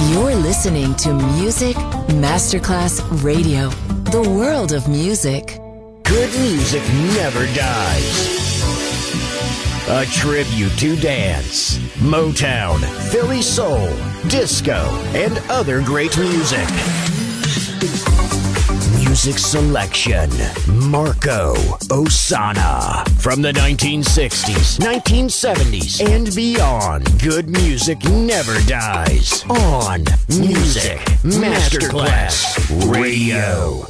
You're listening to Music Masterclass Radio, the world of music. Good music never dies. A tribute to dance, Motown, Philly soul, disco, and other great music. Music selection, Marco Ossanna. From the 1960s, 1970s, and beyond, good music never dies. On Music Masterclass Radio.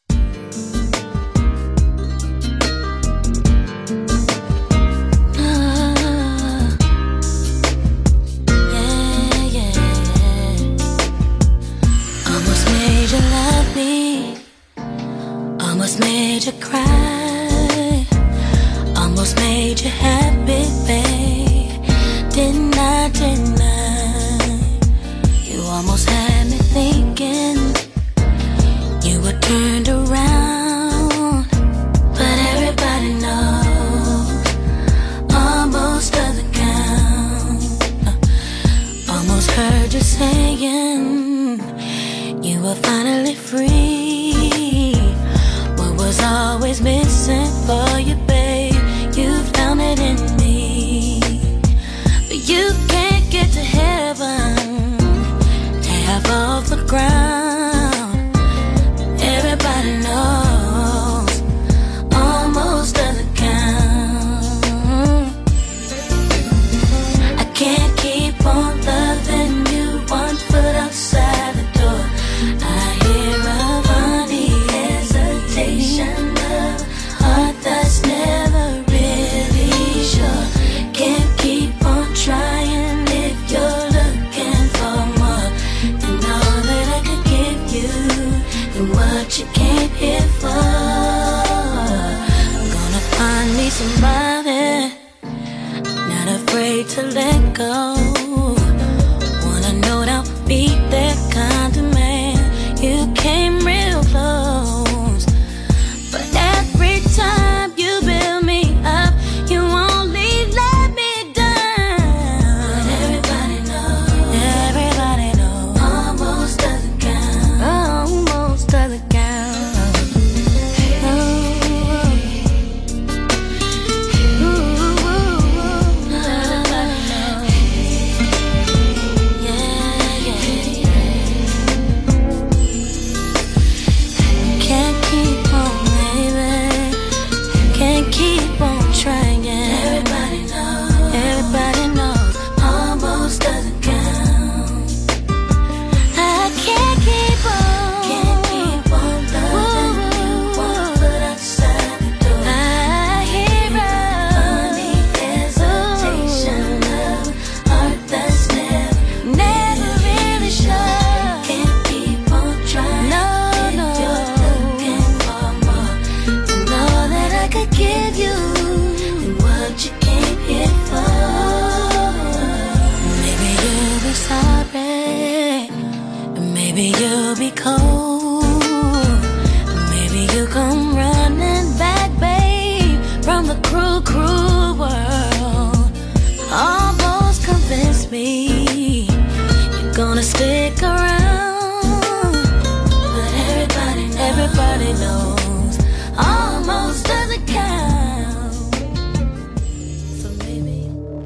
Almost made you cry, almost made you happy, babe. Didn't I? You almost had me thinking you were turned around, but everybody knows almost doesn't count. Almost heard you saying you were finally free. Was always missing for you, babe. You found it in me. But you can't get to heaven, half off the ground. Everybody knows almost doesn't count. I can't keep on loving you, one foot outside the door. I hear a funny of heart that's never really sure. Can't keep on trying if you're looking for more. And all that I could give you and what you came here for. I'm gonna find me somebody not afraid to let go. Wanna know I'll be that kind of man. You came real close. Time you build me up, you only let me down. But everybody knows, almost doesn't count. Almost doesn't count. Everybody knows. Yeah. Can't keep on, baby. Can't keep on trying. Everybody knows, almost doesn't count. I can't keep on loving you, one foot outside the door. I hear funny hesitation of heart that's never really sure. Can't keep on trying. No. If you're looking for more, and all that I could give you and what you came here for. Maybe you'll be sorry, maybe you'll be cold, maybe you'll come running back, babe, from the cruel world. Almost convinced me you're gonna stick around, but everybody knows almost doesn't count. So maybe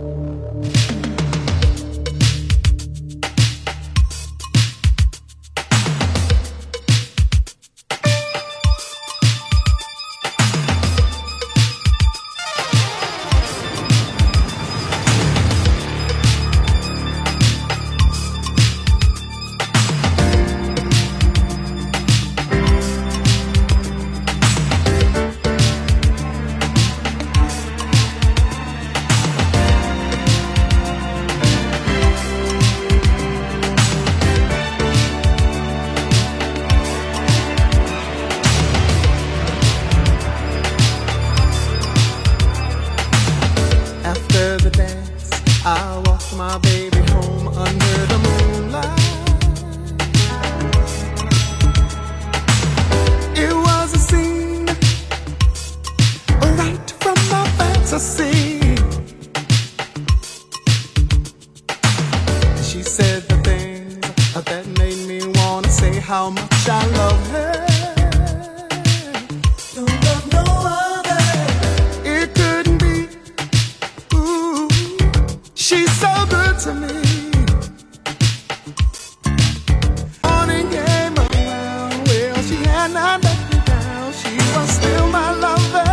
my baby home under the moonlight. It was a scene right from my fantasy. She said the things that how much I love her. Don't love no other. It couldn't be. Ooh, she's so good to me. Morning came around, well, she had not let me down. She was still my lover.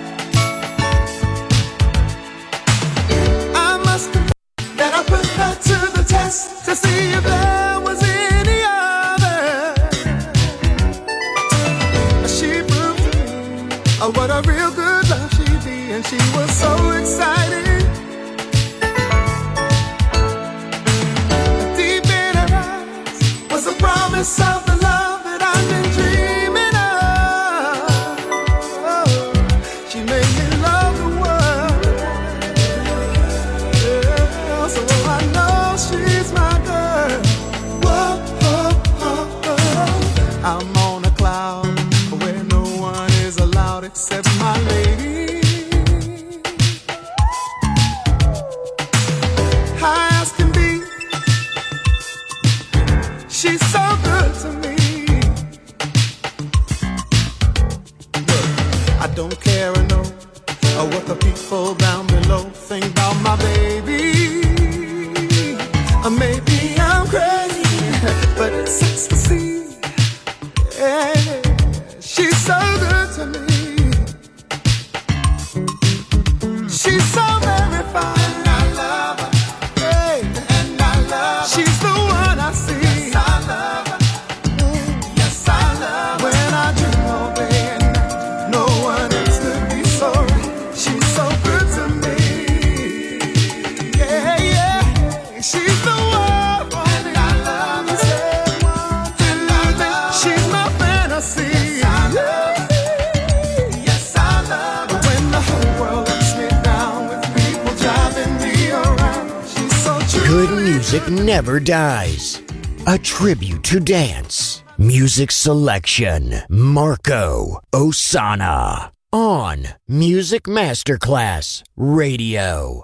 I must admit that I put her to the test to see if there was any other. She proved to me what a real good love she'd be, and she was so excited. Deep in her eyes was a promise of the love that I've been dreaming of. She made me love the world. Yeah, so I know she's my girl. Whoa, whoa, whoa, whoa. I'm on a cloud where no one is allowed except my lady. High as can be, she's so good to me. Look, I don't care or know what the people down below think about my baby. Maybe I'm crazy, but it sucks to see. Yeah, she's so good to me. She's so very fine. And I love her. Hey, and I love her. She's the one I see. Yes, I love her. Yes, I love her. When I dream all day and night, no one else could be so right. She's so good to me. Yeah, yeah. She's the one. And I love her. She's my fantasy. Yes, I love her. When the whole world lets me down with people driving me around, she's so true. Good music never dies. A tribute to dance. Music selection. Marco Ossanna. On Music Masterclass Radio.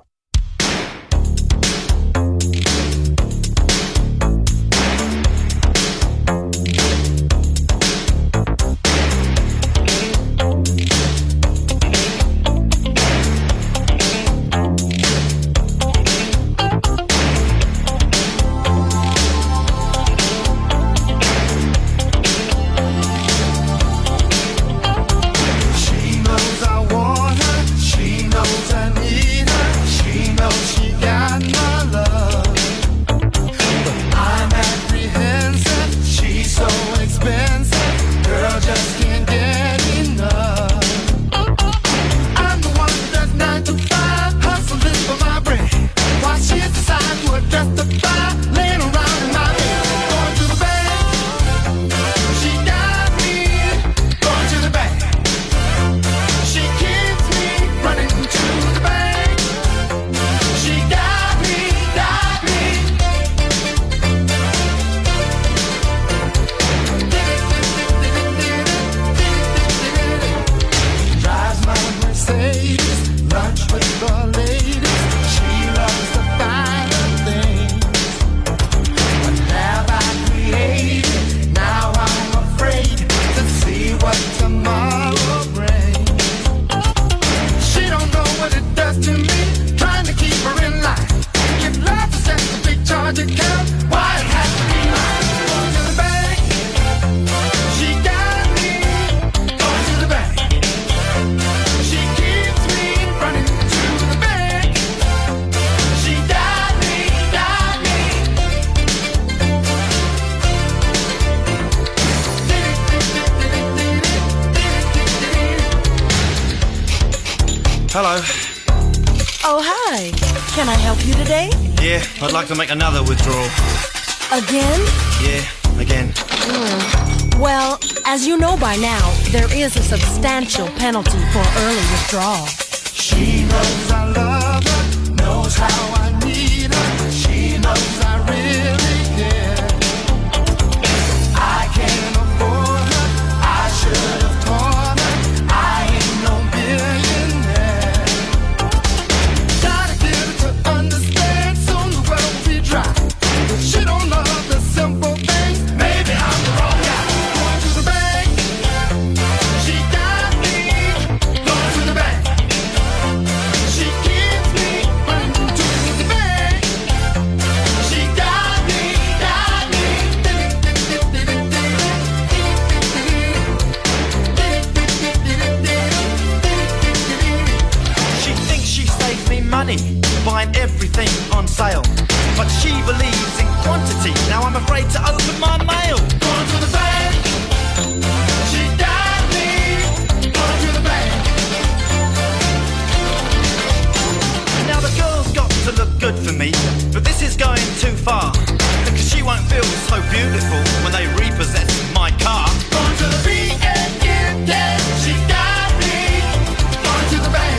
She knows I want her. She knows I need her. She knows she got my love. But I'm apprehensive. She's so expensive. Girl just can't get enough. I'm the one that's 9 to 5, hustling for my bread. While she's deciding to justify laying around in my bed. Going to the bank. She got me. Going to the bank. She keeps me running to the bank. She got me, got me. Drives my Mercedes, lunch with the ladies. She loves the finer things. What have I created? Now I'm afraid to see what tomorrow brings. She don't know what it does to me, trying to keep her in line. If life is just a big charge account, why it has to be mine? Going to the bank. She got me. Going to the bank. She keeps me running to the bank. She got me, got me. Hello. Oh, hi. Can I help you today? Yeah, I'd like to make another withdrawal. Again? Yeah, again. Well, as you know by now, there is a substantial penalty for early withdrawal. She knows I love her, knows how I need her. She knows I really care. I can't afford her. I should have taught her. I ain't no billionaire. Gotta get her to understand, soon the world will be dry. If she don't love the simple things, maybe I'm the wrong afraid to open my mail. Going to the bank. She got me. Going to the bank. Now the girl's got to look good for me, but this is going too far, because she won't feel so beautiful when they repossess my car. Going to the B-A-N-K. She got me. Going to the bank.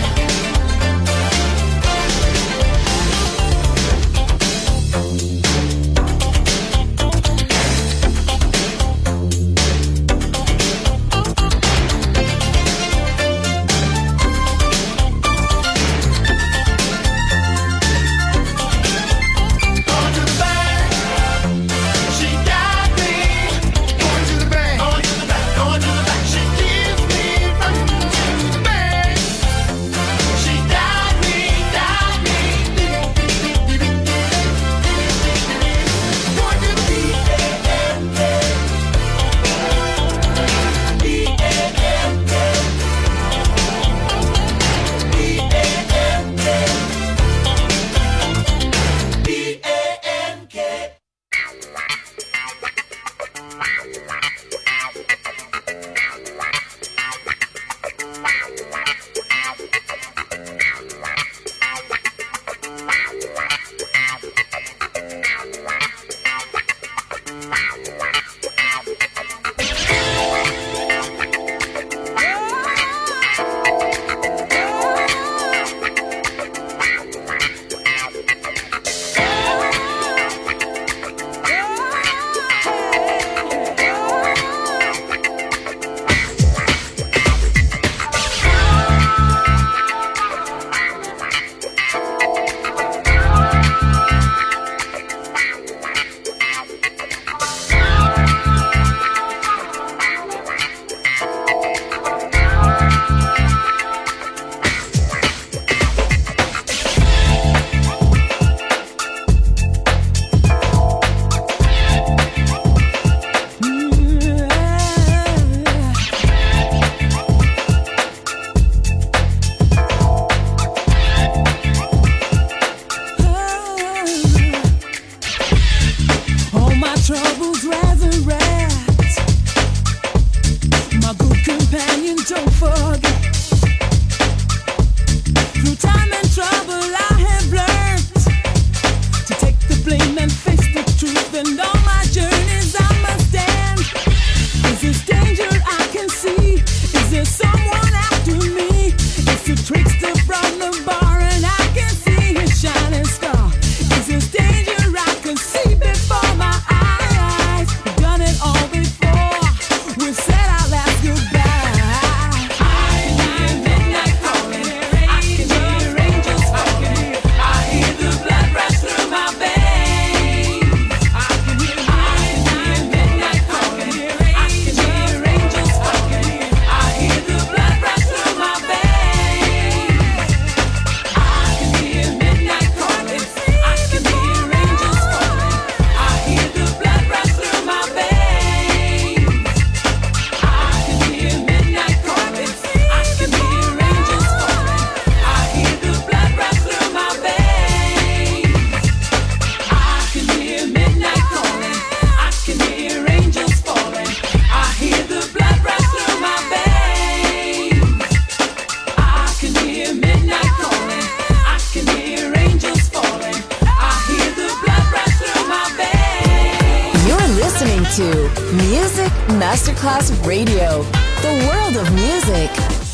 to Music Masterclass Radio, the world of music.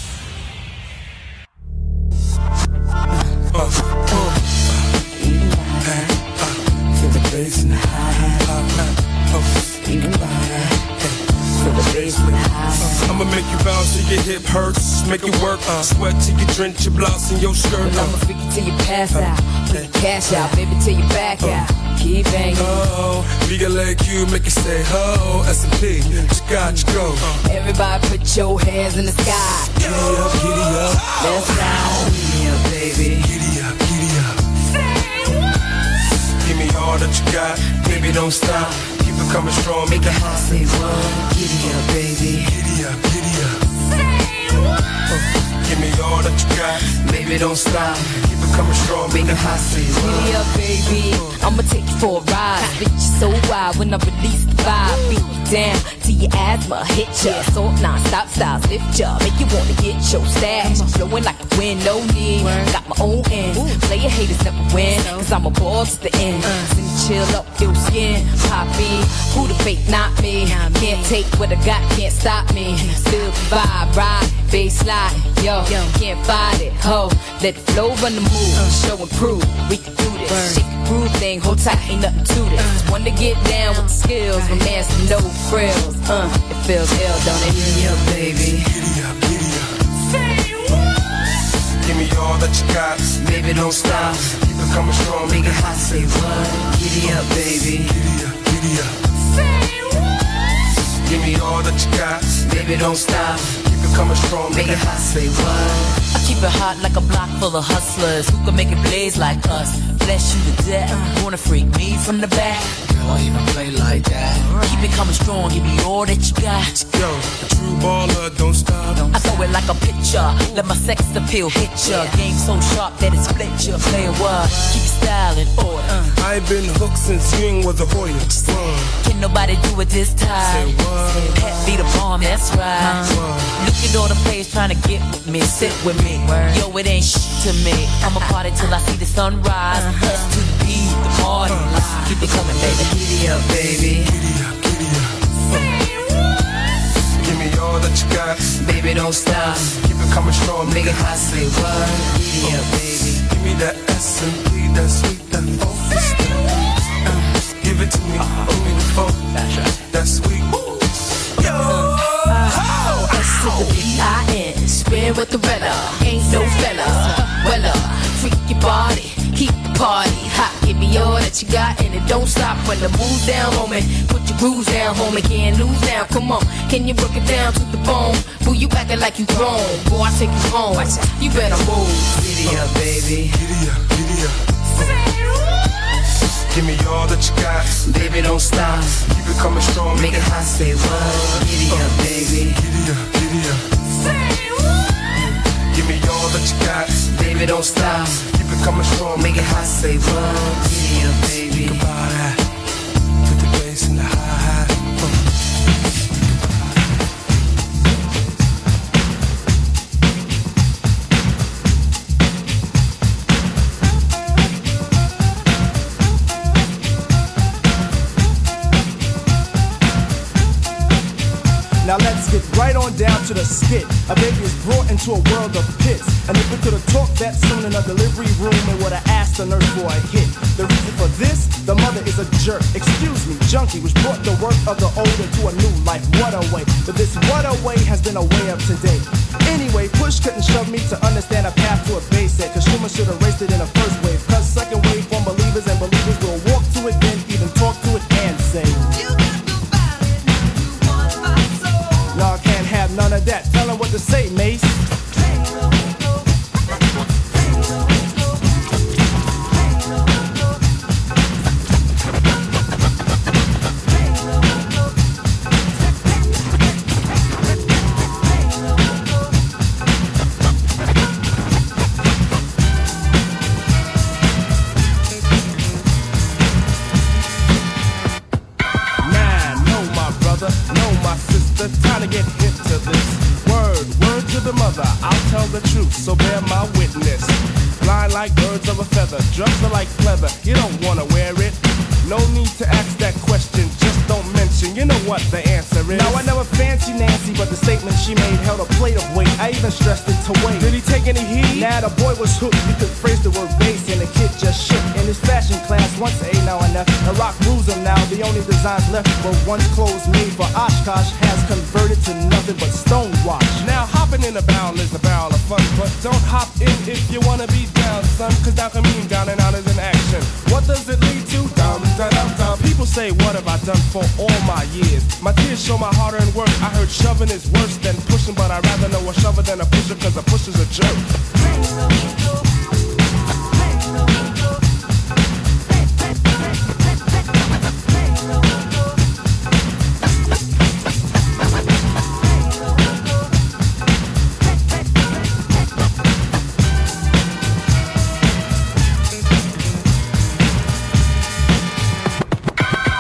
Feel the bass and the hi-hat. You can buy that. Feel the bass and the hi-hat. I'ma make you bounce till your hip hurts. Make it work. Sweat till you drench your blouse in your skirt. Well, I'ma freak it till you pass out. Put the cash out, baby, till you back out. Keep banging. Oh, bigger like you, make it say ho. S&P, you got to go. Everybody put your hands in the sky. Giddy up, giddy up. Let's go. Giddy up, baby. Giddy up, giddy up. Say what? Give me all that you got, baby, don't stop. Keep it coming strong, make it hot. Say what? Giddy up, baby. Giddy up, giddy up. Say what? Give me all that you got. Baby, don't stop. Keep it coming strong. Make it hot, say what? Giddy up, baby. I'ma take you for a ride. Bitch, you so wild when I release the vibe. Beat you down till your asthma hit ya. So non-stop styles lift ya. Make you wanna get your stash. Blowing like the wind, no need. Got my own end. Player haters never win. Cause I'm a ball to the end. Send chill up your skin. Poppy, who the fake, not me. Can't take what I got, can't stop me. Still vibe, ride, bass slide. Yo, can't fight it, ho. Let the flow run the move, show and prove. We can do this, shake the groove thing, hold tight, ain't nothing to this. One to get down with the skills, my man's no frills. It feels ill, don't it? Giddy up, baby. Giddy up, giddy up. Say what? Give me all that you got. Baby, don't stop. Keep it coming strong. Make it hot, say what? Giddy up, baby. Giddy up, giddy up. Say what? Give me all that you got. Baby, don't stop. Keep it coming strong. Make it hot, say what? I keep it hot like a block full of hustlers who can make it blaze like us. Bless you to death. Wanna freak me from the back? Girl, I even play like that. Keep it coming strong, give me all that you got. Yo, a true baller, don't stop. I throw it like a pitcher. Let my sex appeal hit ya. Game so sharp that it split ya. Play what? Keep style in order. I've been hooked since Ying was a Hoya. Can nobody do it this time? Say what? Pet be the bomb, that's right. Look at all the players trying to get with me, sit with me. Yo, it ain't shit to me. I'ma party till I see the sunrise. S to the B, the party. Keep it coming, baby. Giddy up, baby. Giddy up, giddy up. Give me all that you got. Baby, don't stop. Keep it coming strong. Make it hot, say what? Giddy up, baby. Give me that S&P, that sweet, that focus. Give it to me, give me the focus. That sweet. Yo! S to the B-I-N. Spin with the Rella. Ain't no fella. Wella. Freak your body. Keep the party hot. Give me all that you got and it don't stop when the move's down, homie. Put your grooves down, homie. Can't lose now. Come on. Can you break it down to the bone? Boo, you acting like you grown. Boy, I take you home. You better move. Giddy up, baby. Giddy up, giddy up. Give me all that you got. Baby, don't stop. Keep it coming strong. Make it hot, say what? Giddy up, baby. Giddy up, giddy up. Give me all that you got. Baby, don't stop. Keep it coming strong. Make it hot, say what? Giddy up, baby. Think about that. Put the bass in the hi-hat. Now let's get right on down to the skit. A baby is brought into a world of pits. And if we could have talked that soon in a delivery room, it would have asked the nurse for a hit. The reason for this, the mother is a jerk. Excuse me, junkie, which brought the work of the old into a new life. What a way. But this what a way has been a way of today. Anyway, push couldn't shove me to understand a path to a base set. Cause Schumann should have raced it in a first wave. Cause second wave from believers and believers will walk to it, then even talk to it and say, y'all can't have none of that. Tell them what to say, Mace. Time to get hip to this. Word to the mother, I'll tell the truth, so bear my witness. Blind like birds of a feather, drugs are like pleather, you don't wanna wear it. No need to ask that question, just don't mention, you know what the answer is. Now I never fancy Nancy, but the statement she made held a plate of weight. I even stressed it to wait. Did he take any heed? Nah, the boy was hooked, you could phrase the word bass, and the kid just shook. In his fashion class, once A, now and F. The rock rules him now, the only designs left were once clothes made for Oshkosh has converted to nothing but stonewash. Now hopping in a barrel is a barrel of fun, but don't hop in if you wanna be down, son, cause down can mean down and out is an action. What does it lead to? Dum, dum, dum, dum. People say, what have I done for all my years? My tears show my hard-earned work. I heard shoving is worse than pushing, but I'd rather know a shover than a pusher, cause a pusher's a jerk.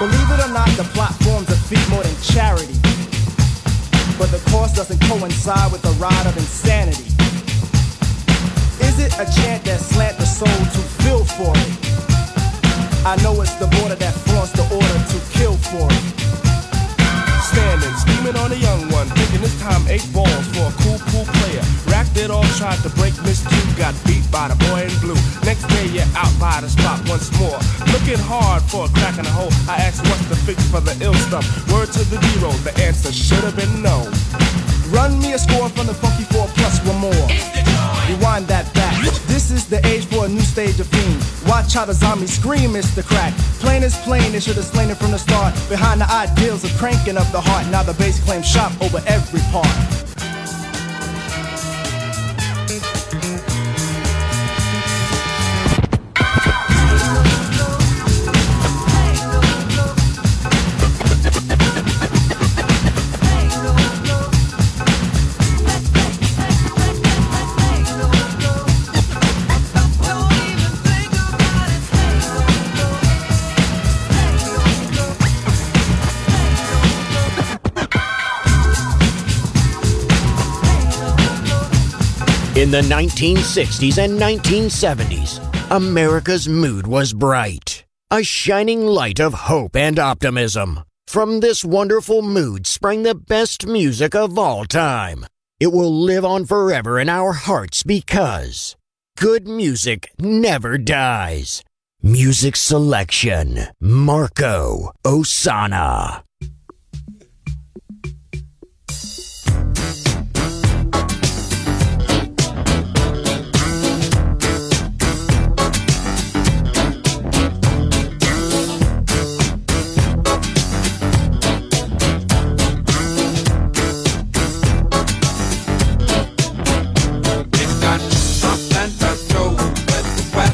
Believe it or not, the plot forms a feat more than charity. But the course doesn't coincide with the ride of insanity. Is it a chant that slant the soul to feel for it? I know it's the border that flaunts the order to kill for it. Standing, scheming on a young one, thinking this time 8 balls for a cool player. Racked it all, tried to break Miss Q, got beat by the boy in blue. Next day you're out by the spot once more, looking hard for a crack in the hole. I asked what's the fix for the ill stuff. Word to the zero, the answer should have been no. Run me a score from the Funky 4 plus one more. Rewind that back. This is the age for a new stage of fiend. Watch how the zombies scream, it's the crack. Plain is plain, they should have slain it from the start. Behind the ideals of cranking up the heart. Now the bass claims shop over every part. In the 1960s and 1970s, America's mood was bright, a shining light of hope and optimism. From this wonderful mood sprang the best music of all time. It will live on forever in our hearts because good music never dies. Music selection, Marco Ossanna.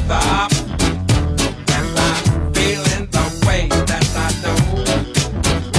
Feeling the way that I do.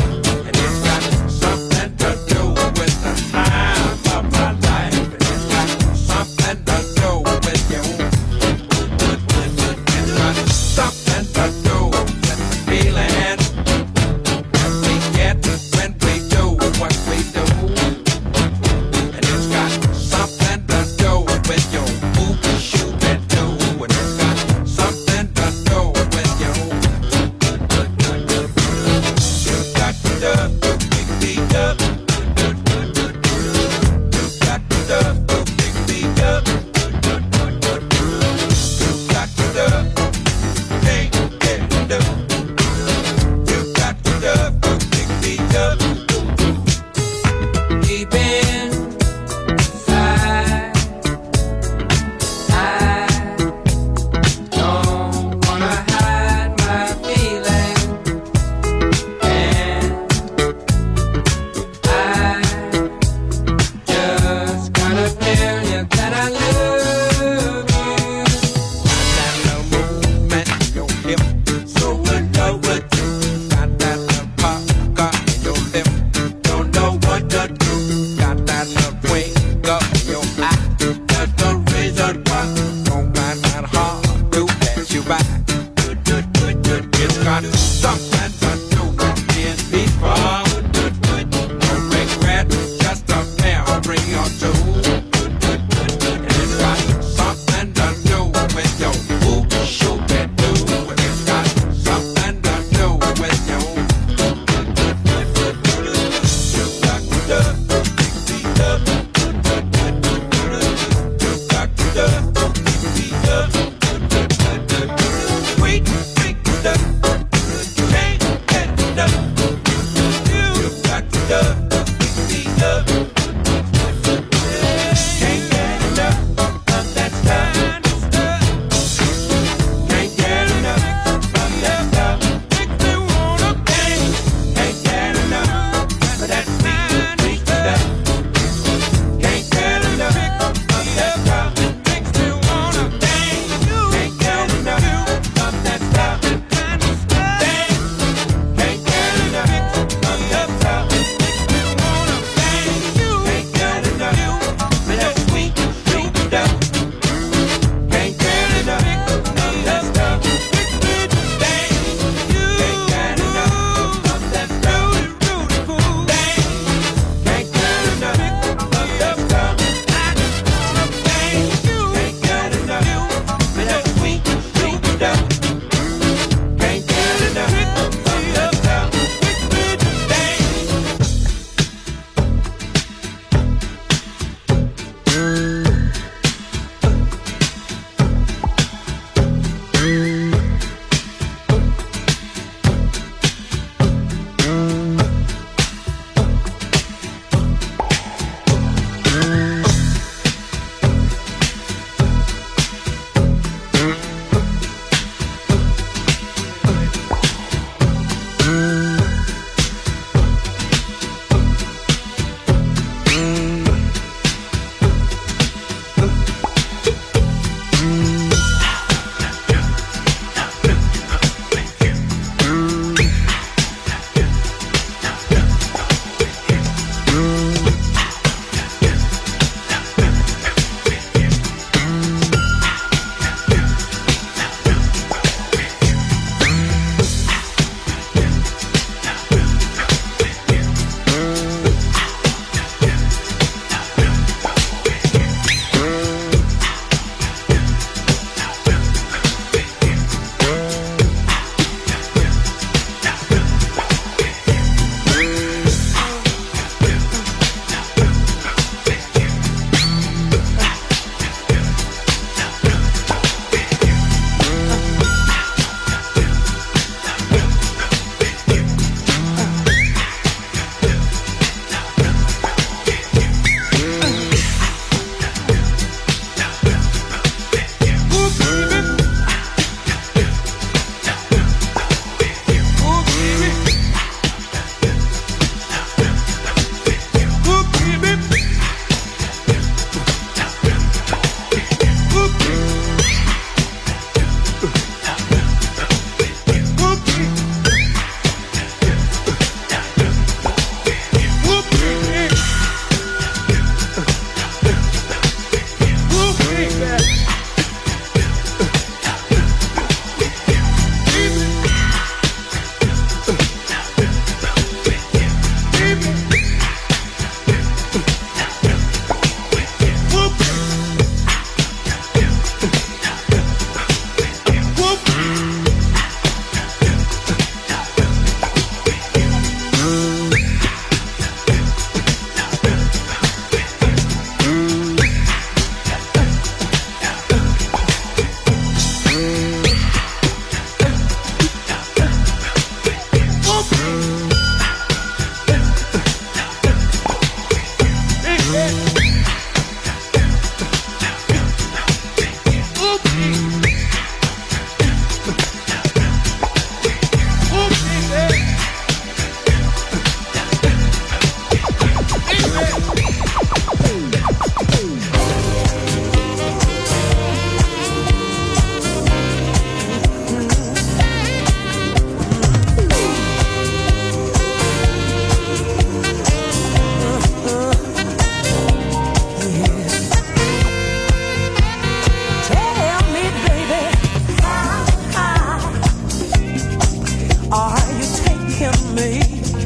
taking me?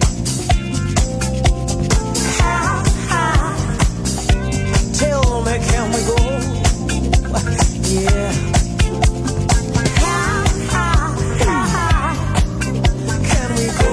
How high? Tell me, can we go? Yeah. How high can we go?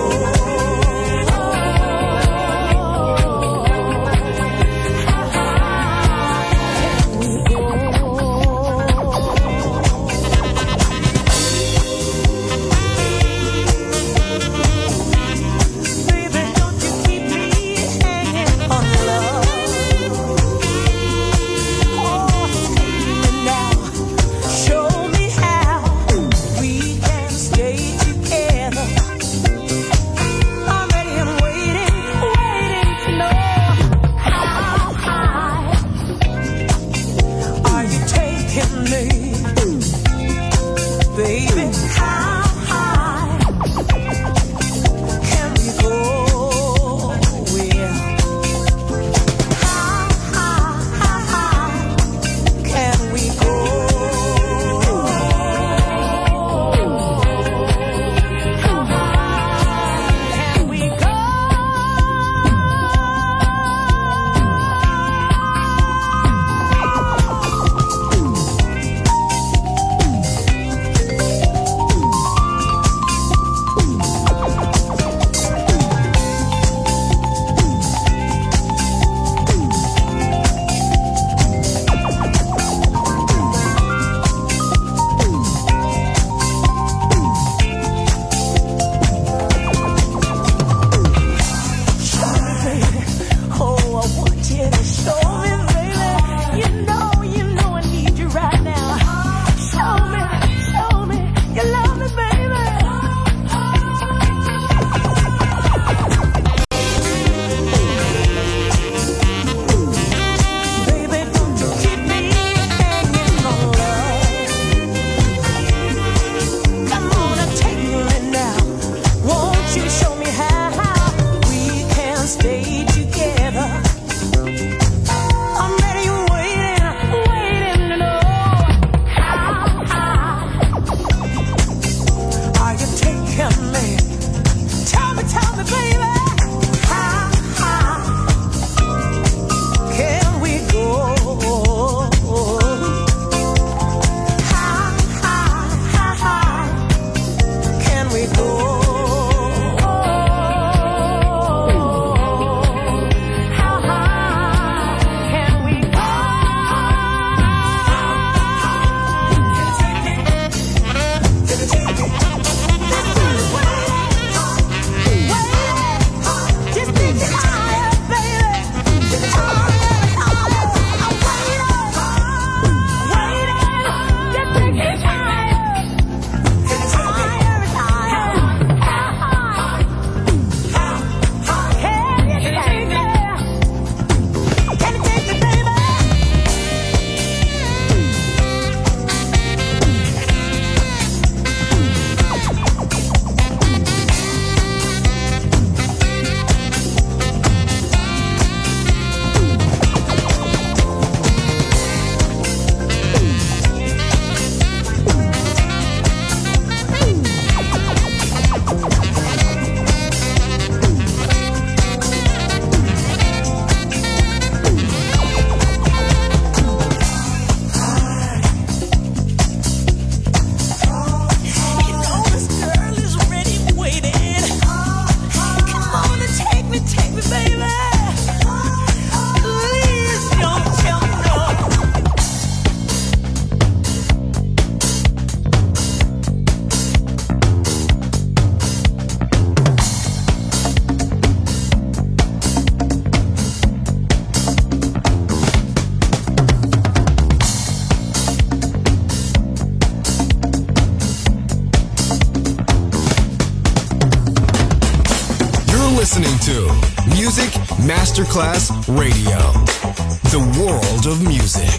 listening to Music Masterclass Radio, the world of music.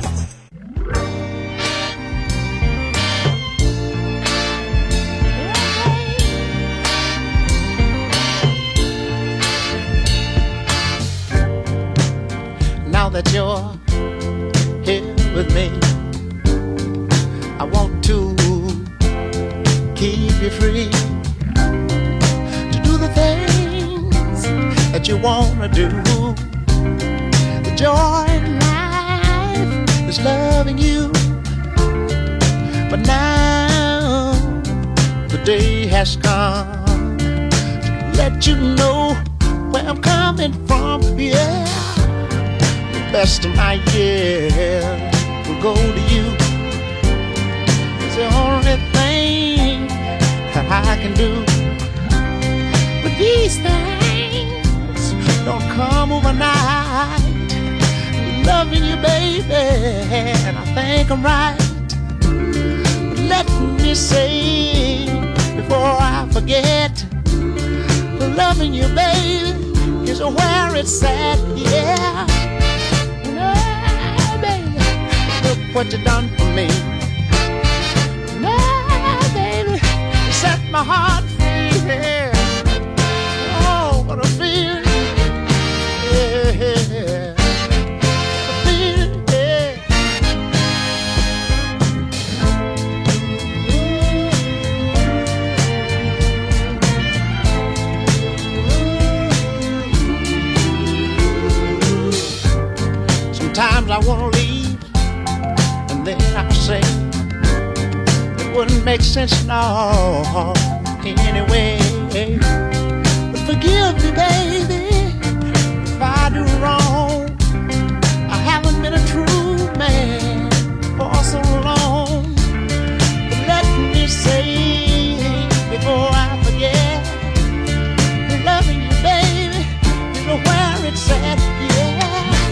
Now that you're here with me, I want to keep you free. you wanna do. The joy in life is loving you. But now the day has come to let you know where I'm coming from. Yeah, the best of my years will go to you. It's the only thing that I can do. But these things don't come overnight. Loving you, baby, and I think I'm right. But let me say before I forget, loving you, baby, is where it's at. Yeah, no, baby, look what you done for me. No, baby, you set my heart free. Yeah. Oh, what a feeling. Yeah. Sometimes I wanna leave, and then I say it wouldn't make sense no anyway. But forgive me, baby, if I do wrong. I haven't been a true man for so long. But let me say before I forget, loving you, baby, is where it's at. Yeah.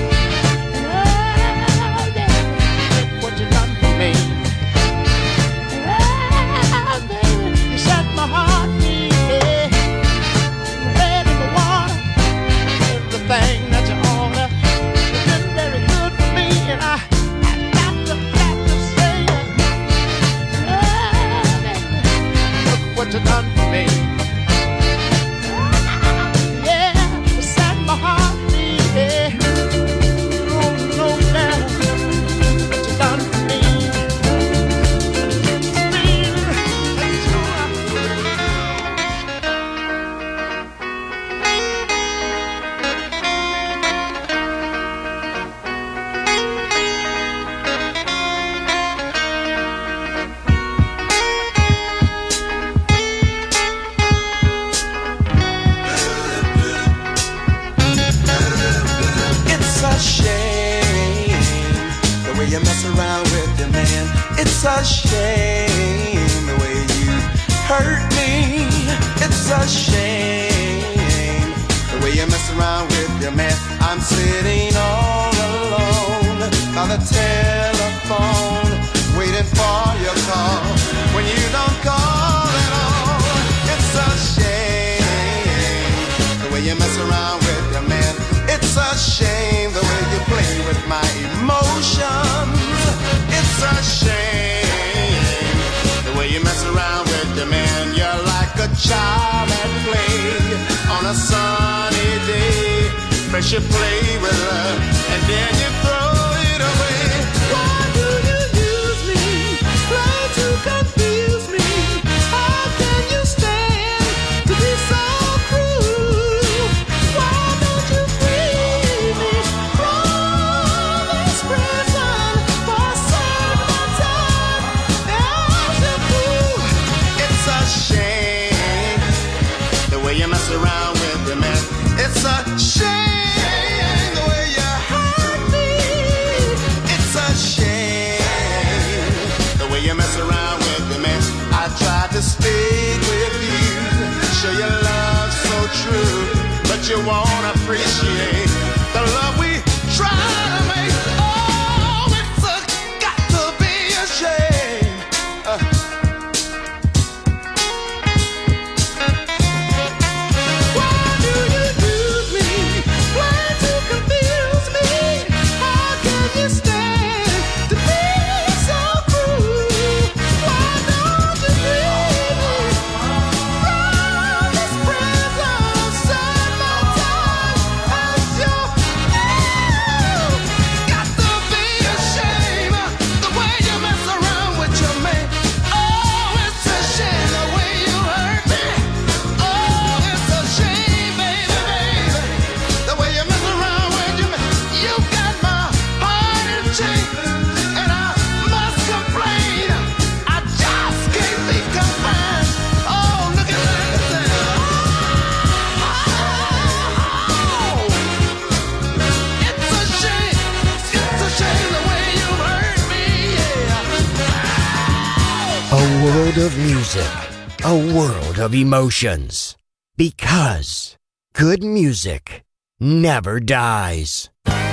Thing that you order has been very good for me, and I got to say, oh, baby, look what you done for me. Yeah, you set my heart free. Yeah. You don't know now what you done for me. It's a shame the way you hurt me. It's a shame the way you mess around with your man. I'm sitting all alone by the telephone, waiting for your call when you don't call at all. It's a shame the way you mess around with your man. It's a shame the way you play with my emotions. It's a shame the way you mess around with your man. You're like a child at play on a sunny day. First you play with her and then you throw it away. Why do you use me? Try to confuse me. How can you stand to be so cruel? Why don't you free me from this prison for a certain time? As a fool, it's a shame the way you mess around with your man. It's a shame the way you hurt me. It's a shame the way you mess around with your man. I tried to stick with you, show your love so true, but you won't appreciate the love we try to make. Oh, it's got to be a shame. Why do you use me? Why to confuse me? How can you stand to be so cruel? Why don't you free me from this prison? Set my time as world of music, a world of emotions. Because good music never dies.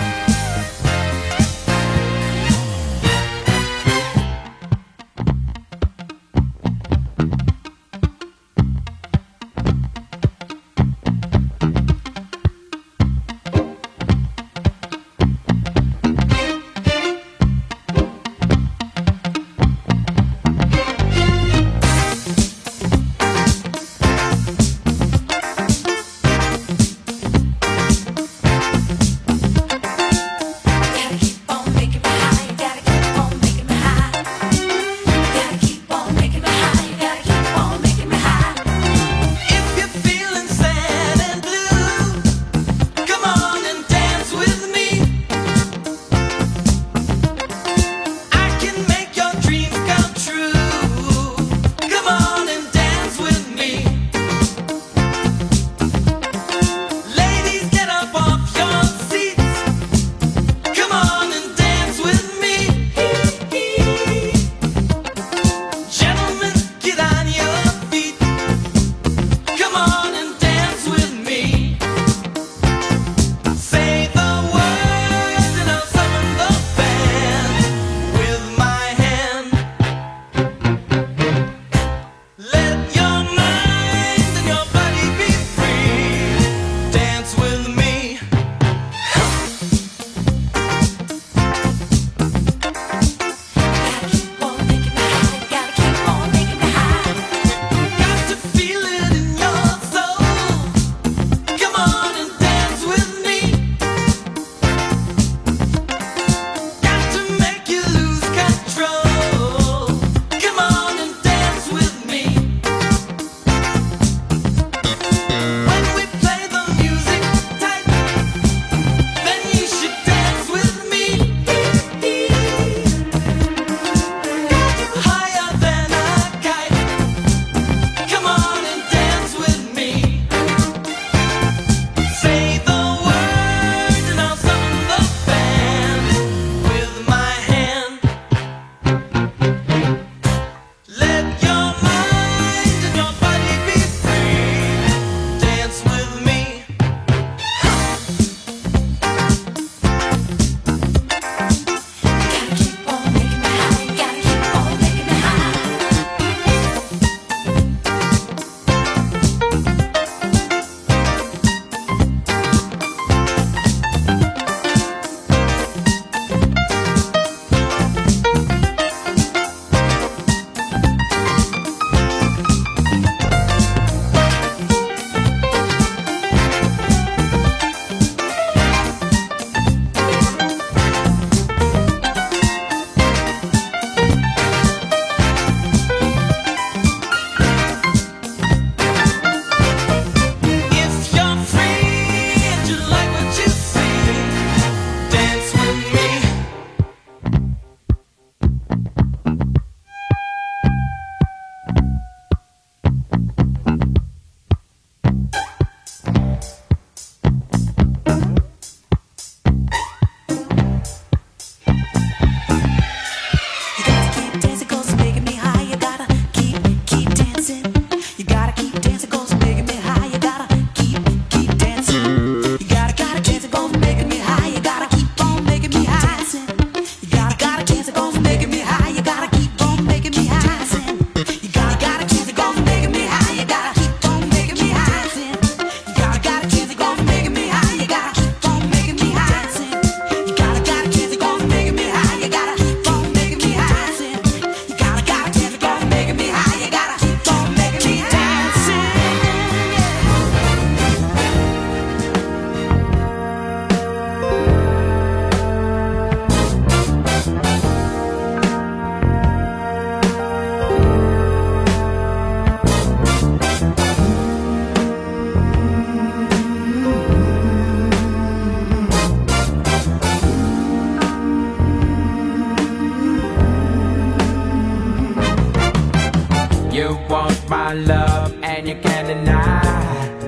my love and you can't deny.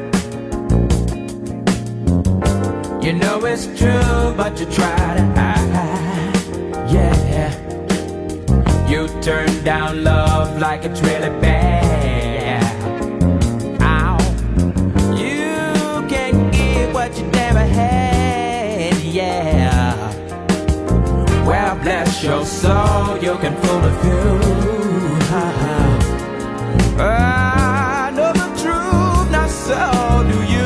You know it's true, but you try to hide. Yeah, you turn down love like it's really bad. Ow. You can get what you never had, yeah. Well, bless your soul, you can fool a few. I know the truth, not so do you.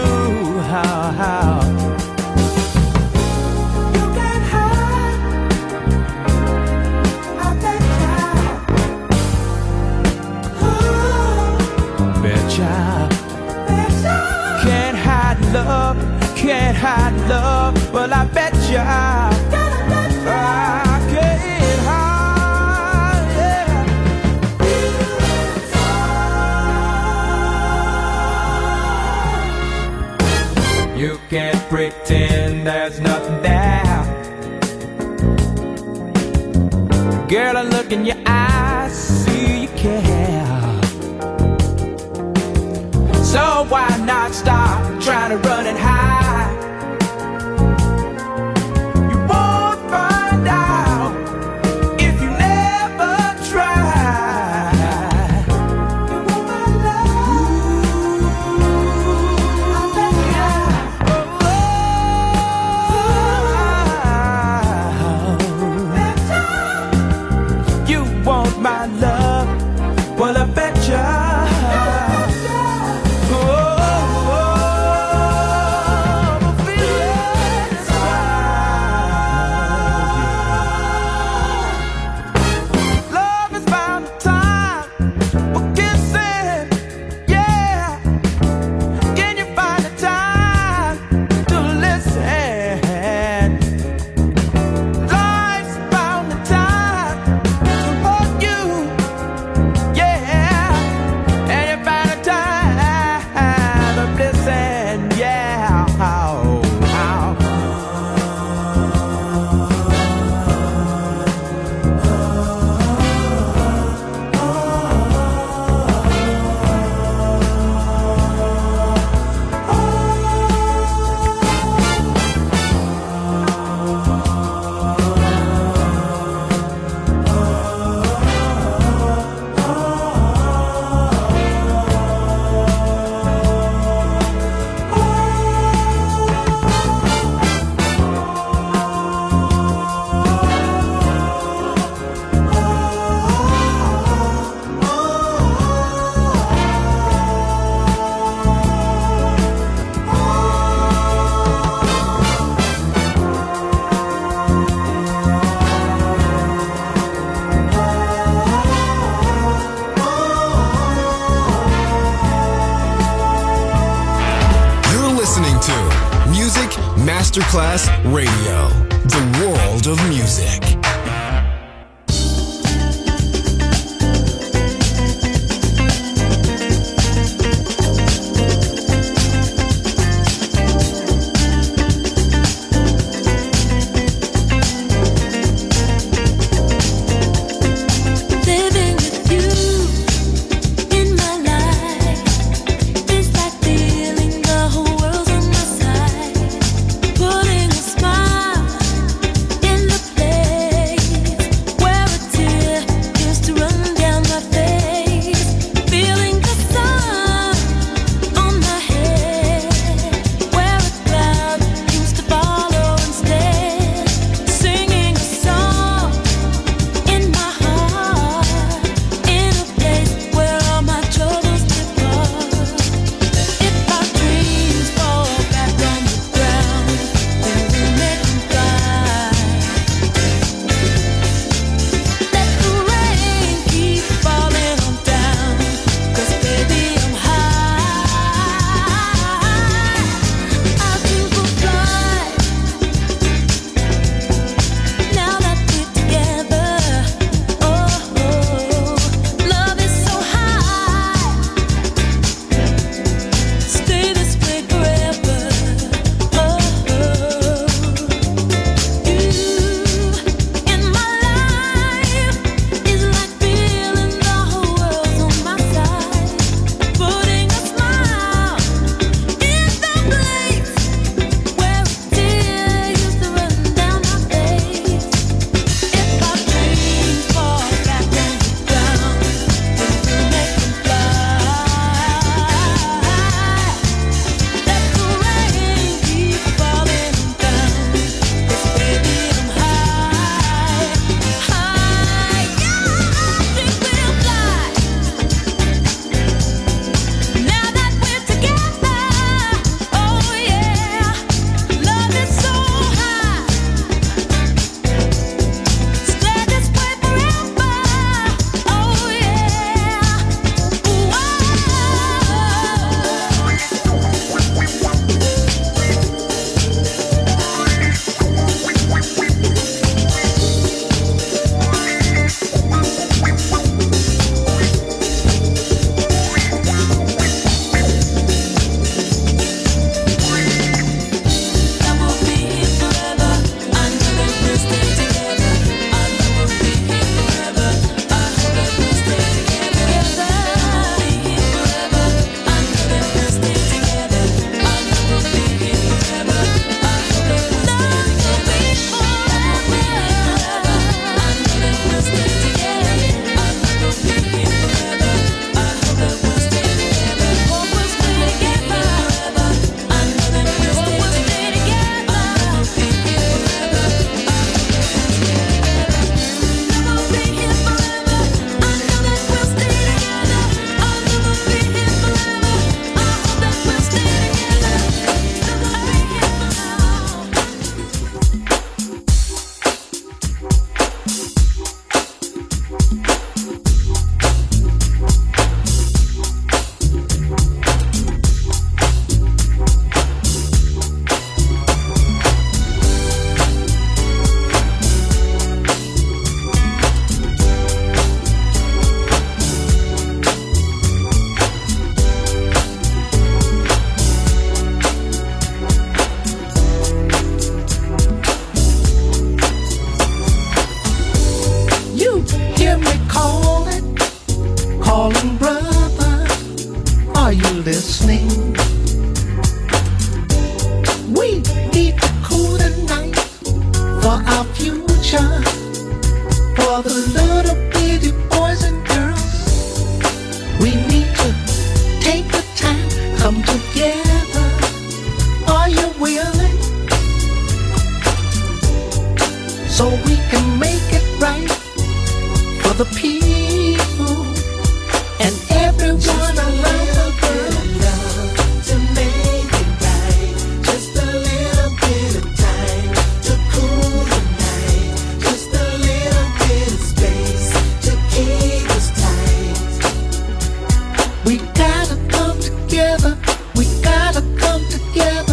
You can't hide, I betcha. Can't hide love, can't hide love. Well, I betcha. I can't hide, yeah. You can't pretend there's nothing there. Girl, I look in your eyes, see you care. So why not stop trying to run and hide? You won't find out if you never try. You want my love? I bet you. You want my love? Well, I betcha. Masterclass Radio, the world of music. Putting a smile in the place. our future for the little bitty boys and girls. We need to take the time, come together. Are you willing? So we can make it right for the people and everyone around the world. To make it right, just a little bit of time to cool the night, just a little bit of space to keep us tight. We gotta come together, we gotta come together.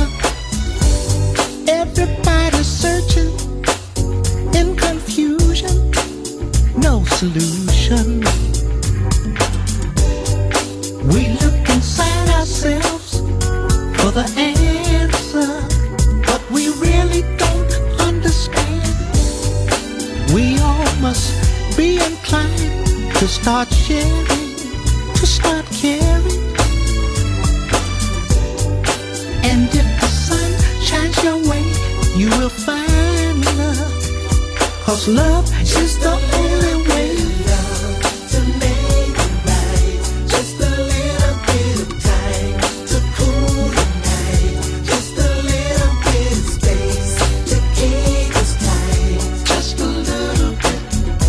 Everybody's searching in confusion, no solution. We look inside ourselves for the answer, but we really don't understand. We all must be inclined to start sharing, to start caring. And if the sun shines your way, you will find love, 'cause love is the only way. To make it right, just a little bit of time to cool the night, just a little bit of space to keep us tight, just a little bit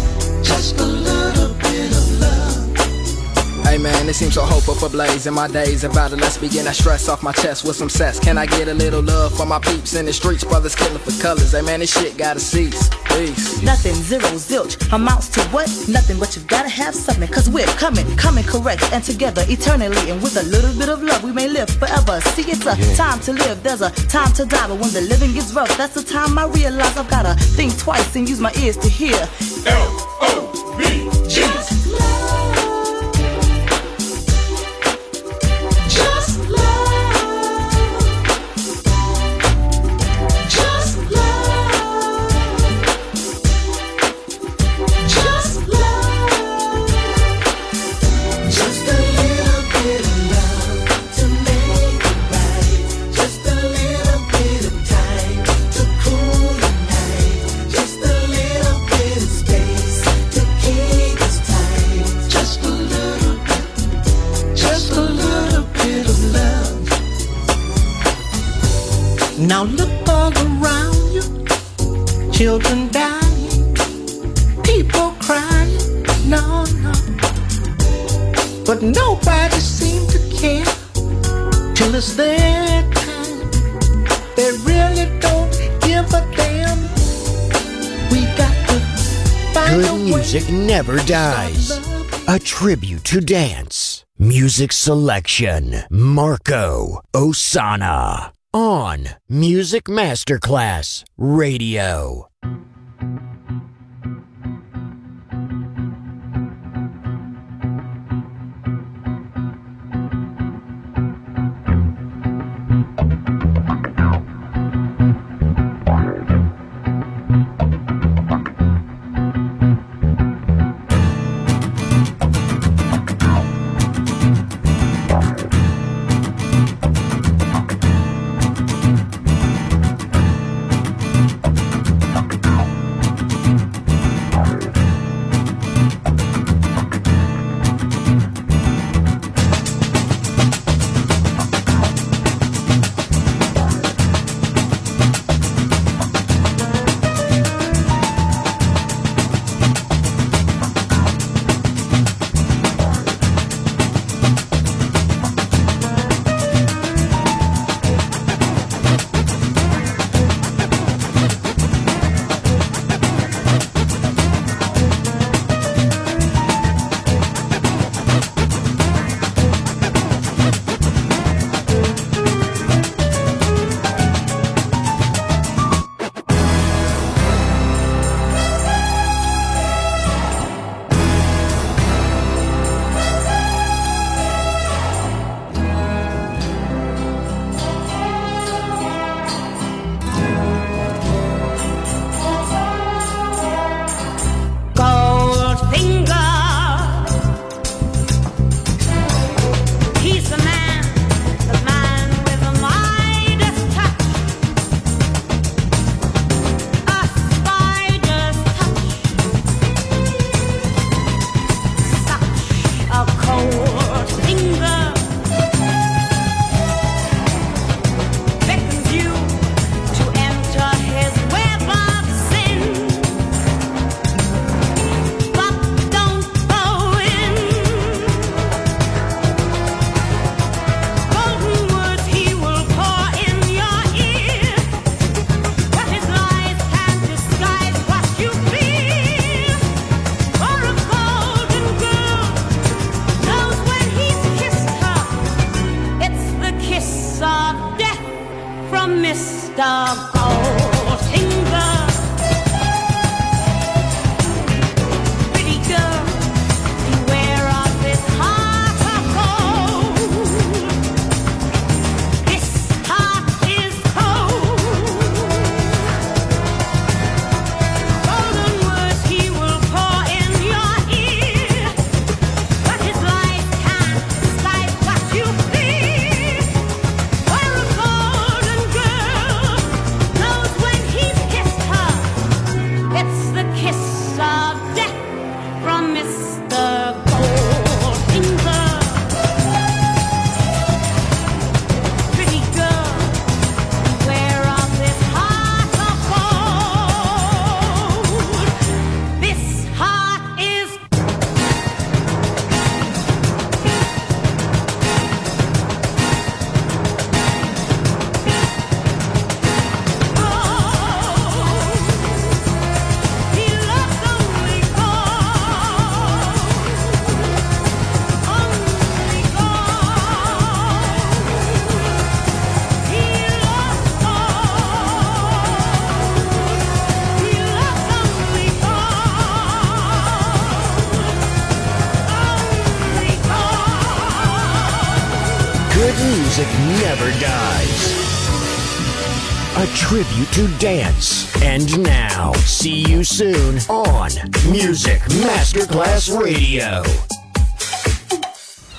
of love. Hey man, it seems so hopeful for blaze in my days about it. Let's begin that stress off my chest with some cess. Can I get a little love for my peeps in the streets? Brothers killing for colors. Hey man, this shit gotta cease. Peace. Nothing, zero, zilch, amounts to what? Nothing, but you gotta have something. 'Cause we're coming correct and together eternally. And with a little bit of love, we may live forever. See, it's a time to live, there's a time to die. But when the living gets rough, that's the time I realize I've gotta think twice and use my ears to hear. L-O-V-E. Now look all around you, children dying, people crying, no. But nobody seems to care till it's their time. They really don't give a damn. We got to find Good music never dies. A tribute to dance. Music selection, Marco Ossanna. On Music Masterclass Radio. from Mr. Goldfinger. Pretty girl, beware of this heart of gold. This heart is cold. Golden words he will pour in your ear, but his life can't decide what you feel. Where a golden girl knows when he's kissed her, it's the kiss of death from Mr. Goldfinger. Pretty girl, beware of this heart of gold. This heart is Good music never dies. A tribute to dance. And now, see you soon on Music Masterclass Radio.